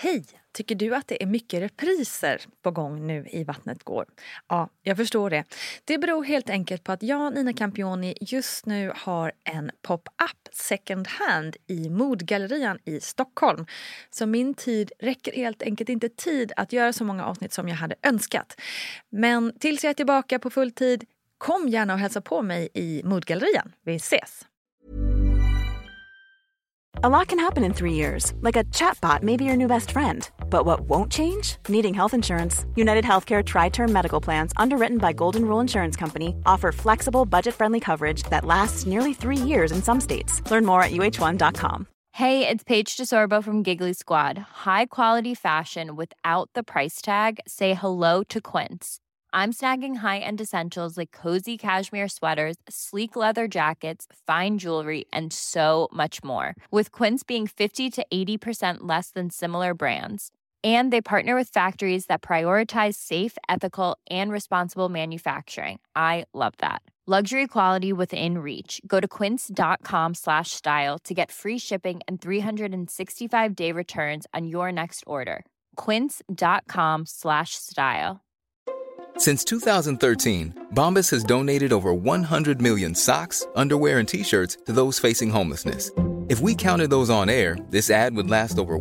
Hej! Tycker du att det är mycket repriser på gång nu i Vattnet går? Ja, jag förstår det. Det beror helt enkelt på att jag, Nina Campioni, just nu har en pop-up second hand i Modgallerian i Stockholm. Så min tid räcker helt enkelt inte tid att göra så många avsnitt som jag hade önskat. Men tills jag är tillbaka på full tid, kom gärna och hälsa på mig i Modgallerian. Vi ses! A lot can happen in 3 years, like a chatbot may be your new best friend. But what won't change? Needing health insurance. United Healthcare Tri-Term Medical Plans, underwritten by Golden Rule Insurance Company, offer flexible, budget-friendly coverage that lasts nearly 3 years in some states. Learn more at uh1.com. Hey, it's Paige DeSorbo from Giggly Squad. High quality fashion without the price tag. Say hello to Quince. I'm snagging high-end essentials like cozy cashmere sweaters, sleek leather jackets, fine jewelry, and so much more. With Quince being 50 to 80% less than similar brands. And they partner with factories that prioritize safe, ethical, and responsible manufacturing. I love that. Luxury quality within reach. Go to quince.com/style to get free shipping and 365-day returns on your next order. Quince.com/style. Since 2013, Bombas has donated over 100 million socks, underwear, and T-shirts to those facing homelessness. If we counted those on air, this ad would last over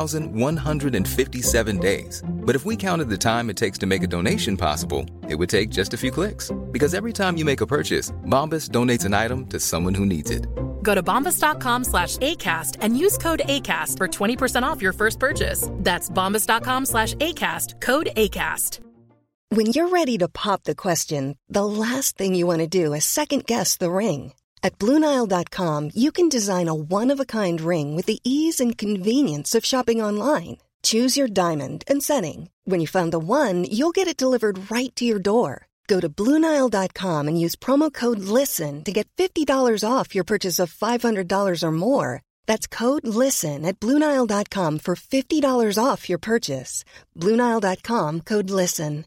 1,157 days. But if we counted the time it takes to make a donation possible, it would take just a few clicks. Because every time you make a purchase, Bombas donates an item to someone who needs it. Go to bombas.com/ACAST and use code ACAST for 20% off your first purchase. That's bombas.com/ACAST, code ACAST. When you're ready to pop the question, the last thing you want to do is second-guess the ring. At BlueNile.com, you can design a one-of-a-kind ring with the ease and convenience of shopping online. Choose your diamond and setting. When you find the one, you'll get it delivered right to your door. Go to BlueNile.com and use promo code LISTEN to get $50 off your purchase of $500 or more. That's code LISTEN at BlueNile.com for $50 off your purchase. BlueNile.com, code LISTEN.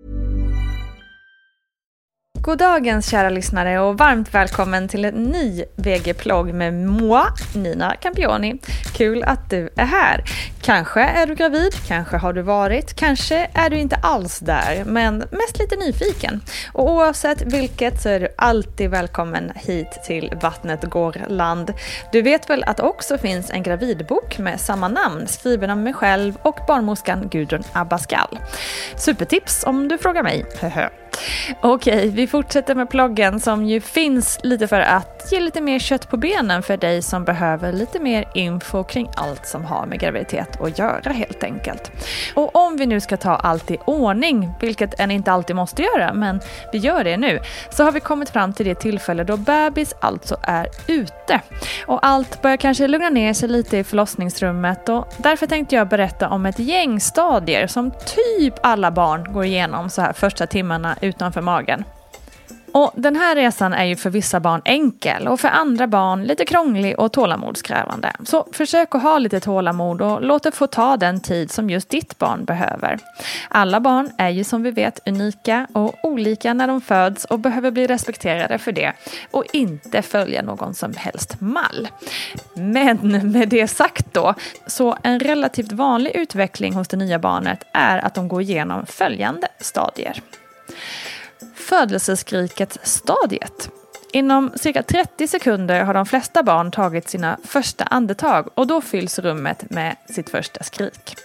God dagens kära lyssnare och varmt välkommen till en ny VG-plogg med moi, Nina Campioni. Kul att du är här. Kanske är du gravid, kanske har du varit, kanske är du inte alls där, men mest lite nyfiken. Och oavsett vilket så är du alltid välkommen hit till Vattnet går land. Du vet väl att det också finns en gravidbok med samma namn, skriven av mig själv och barnmorskan Gudrun Abascal. Supertips om du frågar mig. Okej, vi fortsätter med ploggen som ju finns lite för att ge lite mer kött på benen för dig som behöver lite mer info kring allt som har med graviditet att göra helt enkelt. Och om vi nu ska ta allt i ordning, vilket en inte alltid måste göra, men vi gör det nu, så har vi kommit fram till det tillfälle då bebis alltså är ute. Och allt börjar kanske lugna ner sig lite i förlossningsrummet och därför tänkte jag berätta om ett gäng stadier som typ alla barn går igenom så här första timmarna utanför magen. Och den här resan är ju för vissa barn enkel och för andra barn lite krånglig och tålamodskrävande. Så försök att ha lite tålamod och låt det få ta den tid som just ditt barn behöver. Alla barn är ju som vi vet unika och olika när de föds och behöver bli respekterade för det och inte följa någon som helst mall. Men med det sagt då, så en relativt vanlig utveckling hos det nya barnet är att de går igenom följande stadier. Födelseskriket stadiet. Inom cirka 30 sekunder har de flesta barn tagit sina första andetag och då fylls rummet med sitt första skrik.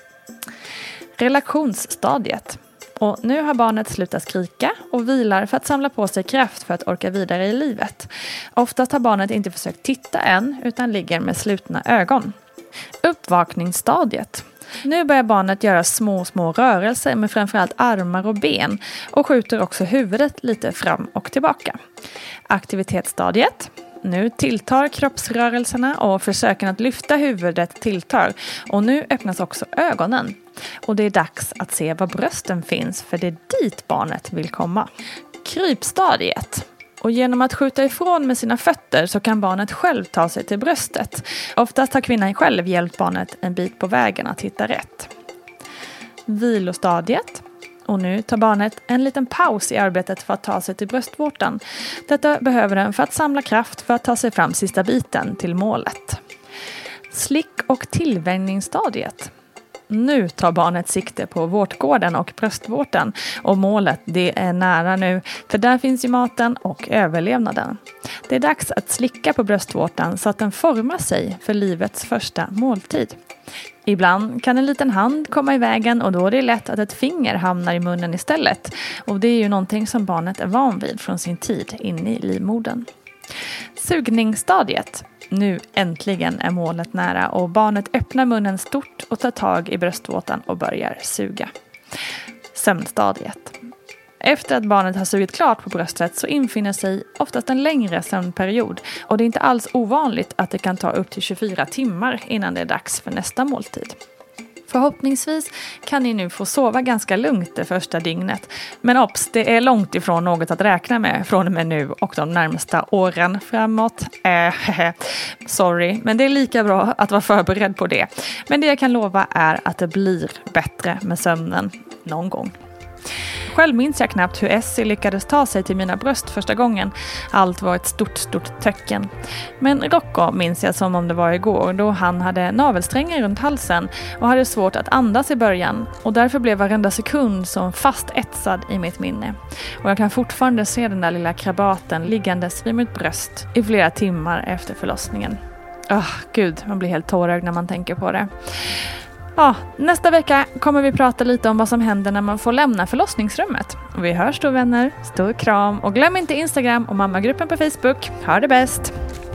Relationsstadiet. Och nu har barnet slutat skrika och vilar för att samla på sig kraft för att orka vidare i livet. Oftast har barnet inte försökt titta än utan ligger med slutna ögon. Uppvakningsstadiet. Nu börjar barnet göra små rörelser med framförallt armar och ben och skjuter också huvudet lite fram och tillbaka. Aktivitetsstadiet. Nu tilltar kroppsrörelserna och försöken att lyfta huvudet tilltar och nu öppnas också ögonen. Och det är dags att se var brösten finns för det är dit barnet vill komma. Krypstadiet. Och genom att skjuta ifrån med sina fötter så kan barnet själv ta sig till bröstet. Oftast har kvinnan själv hjälpt barnet en bit på vägen att hitta rätt. Vilostadiet. Och nu tar barnet en liten paus i arbetet för att ta sig till bröstvårtan. Detta behöver den för att samla kraft för att ta sig fram sista biten till målet. Slick- och tillvänjningsstadiet. Nu tar barnet sikte på vårtgården och bröstvårtan och målet det är nära nu, för där finns ju maten och överlevnaden. Det är dags att slicka på bröstvårtan så att den formar sig för livets första måltid. Ibland kan en liten hand komma i vägen och då är det lätt att ett finger hamnar i munnen istället. Och det är ju någonting som barnet är van vid från sin tid inne i livmodern. Sugningsstadiet. Nu äntligen är målet nära och barnet öppnar munnen stort och tar tag i bröstvårtan och börjar suga. Sömnstadiet. Efter att barnet har sugit klart på bröstet så infinner sig oftast en längre sömnperiod och det är inte alls ovanligt att det kan ta upp till 24 timmar innan det är dags för nästa måltid. Förhoppningsvis kan ni nu få sova ganska lugnt det första dygnet. Men obs, det är långt ifrån något att räkna med från och med nu och de närmsta åren framåt. Sorry, men det är lika bra att vara förberedd på det. Men det jag kan lova är att det blir bättre med sömnen någon gång. Själv minns jag knappt hur Essie lyckades ta sig till mina bröst första gången. Allt var ett stort töcken. Men Rocco minns jag som om det var igår då han hade navelsträngar runt halsen och hade svårt att andas i början. Och därför blev varenda sekund som fast etsad i mitt minne. Och jag kan fortfarande se den där lilla krabaten liggandes vid mitt bröst i flera timmar efter förlossningen. Gud, man blir helt tårögd när man tänker på det. Ja, nästa vecka kommer vi prata lite om vad som händer när man får lämna förlossningsrummet. Vi hörs då vänner, stor kram och glöm inte Instagram och mammagruppen på Facebook. Ha det bäst!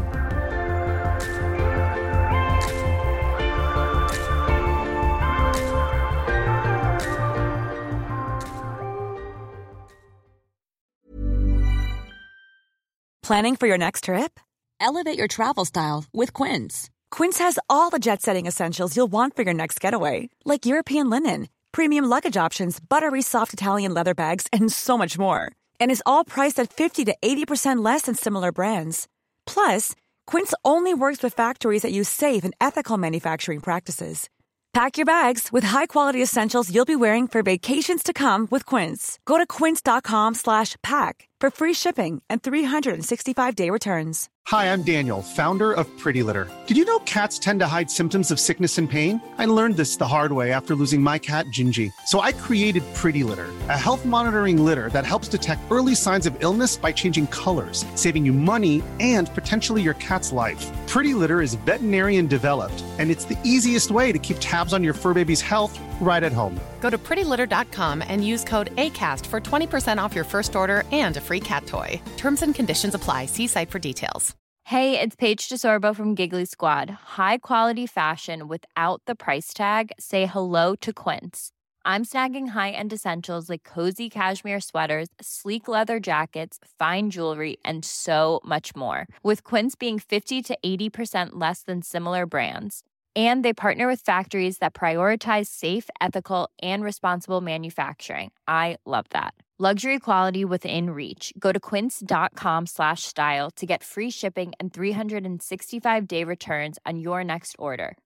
Planning for your next trip? Elevate your travel style with Quince. Quince has all the jet-setting essentials you'll want for your next getaway, like European linen, premium luggage options, buttery soft Italian leather bags, and so much more. And is all priced at 50 to 80% less than similar brands. Plus, Quince only works with factories that use safe and ethical manufacturing practices. Pack your bags with high-quality essentials you'll be wearing for vacations to come with Quince. Go to quince.com/pack for free shipping and 365-day returns. Hi, I'm Daniel, founder of Pretty Litter. Did you know cats tend to hide symptoms of sickness and pain? I learned this the hard way after losing my cat, Gingy. So I created Pretty Litter, a health monitoring litter that helps detect early signs of illness by changing colors, saving you money and potentially your cat's life. Pretty Litter is veterinarian developed, and it's the easiest way to keep tabs on your fur baby's health right at home. Go to prettylitter.com and use code ACAST for 20% off your first order and a free cat toy. Terms and conditions apply. See site for details. Hey, it's Paige DeSorbo from Giggly Squad. High quality fashion without the price tag. Say hello to Quince. I'm snagging high-end essentials like cozy cashmere sweaters, sleek leather jackets, fine jewelry, and so much more. With Quince being 50 to 80% less than similar brands. And they partner with factories that prioritize safe, ethical, and responsible manufacturing. I love that. Luxury quality within reach. Go to quince.com/style to get free shipping and 365-day returns on your next order.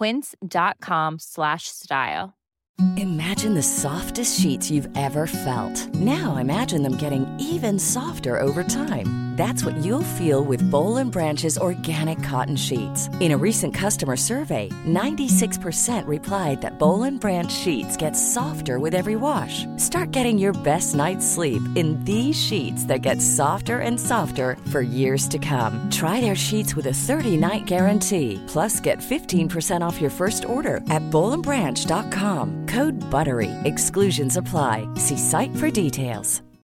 Quince.com/style. Imagine the softest sheets you've ever felt. Now imagine them getting even softer over time. That's what you'll feel with Boll & Branch's organic cotton sheets. In a recent customer survey, 96% replied that Boll & Branch sheets get softer with every wash. Start getting your best night's sleep in these sheets that get softer and softer for years to come. Try their sheets with a 30-night guarantee. Plus, get 15% off your first order at bollandbranch.com. Code BUTTERY. Exclusions apply. See site for details.